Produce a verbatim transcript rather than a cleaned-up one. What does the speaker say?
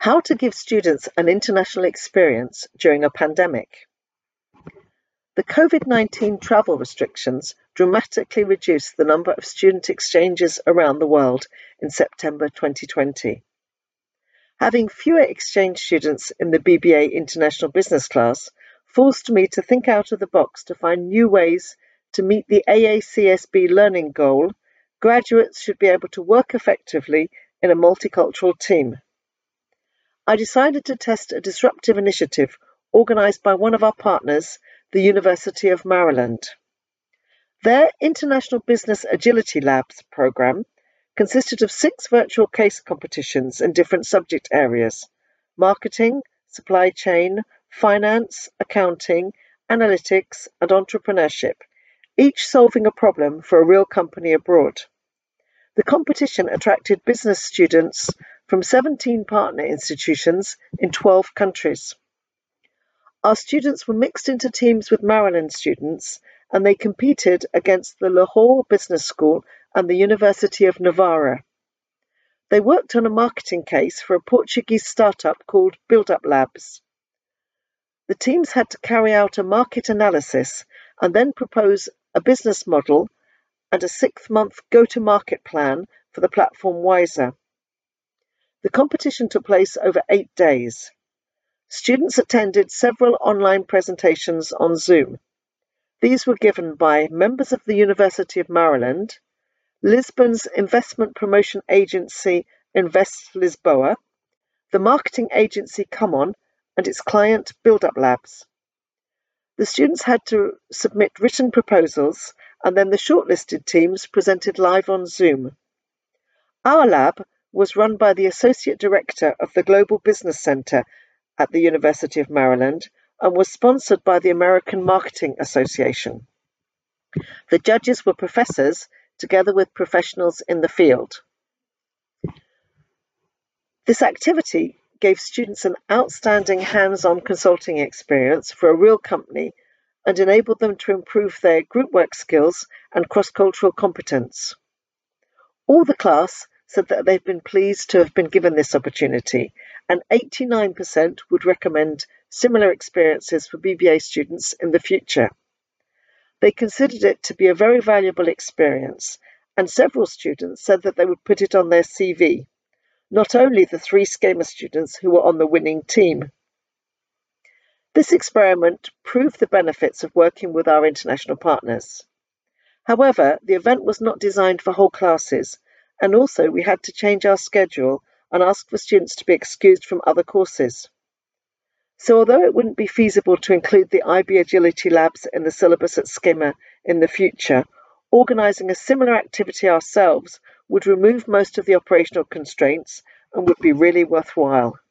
How to give students an international experience during a pandemic. The COVID nineteen travel restrictions dramatically reduced the number of student exchanges around the world in September twenty twenty. Having fewer exchange students in the B B A International Business class forced me to think out of the box to find new ways to meet the A A C S B learning goal: graduates should be able to work effectively in a multicultural team. I decided to test a disruptive initiative organised by one of our partners, the University of Maryland. Their International Business Agility Labs programme consisted of six virtual case competitions in different subject areas: marketing, supply chain, finance, accounting, analytics, and entrepreneurship, each solving a problem for a real company abroad. The competition attracted business students from seventeen partner institutions in twelve countries. Our students were mixed into teams with Maryland students, and they competed against the Lahore Business School and the University of Navarra. They worked on a marketing case for a Portuguese startup called Build Up Labs. The teams had to carry out a market analysis and then propose a business model and a six-month go-to-market plan for the platform Wiser. The competition took place over eight days. Students attended several online presentations on Zoom. These were given by members of the University of Maryland, Lisbon's investment promotion agency Invest Lisboa, the marketing agency Come On, and its client Build Up Labs. The students had to submit written proposals, and then the shortlisted teams presented live on Zoom. Our lab was run by the Associate Director of the Global Business Center at the University of Maryland and was sponsored by the American Marketing Association. The judges were professors together with professionals in the field. This activity gave students an outstanding hands-on consulting experience for a real company and enabled them to improve their group work skills and cross-cultural competence. All the class said that they've been pleased to have been given this opportunity, and eighty-nine percent would recommend similar experiences for B B A students in the future. They considered it to be a very valuable experience, and several students said that they would put it on their C V, not only the three SKEMA students who were on the winning team. This experiment proved the benefits of working with our international partners. However, the event was not designed for whole classes, and also we had to change our schedule and ask for students to be excused from other courses. So although it wouldn't be feasible to include the I B Agility Labs in the syllabus at SKEMA in the future, organising a similar activity ourselves would remove most of the operational constraints and would be really worthwhile.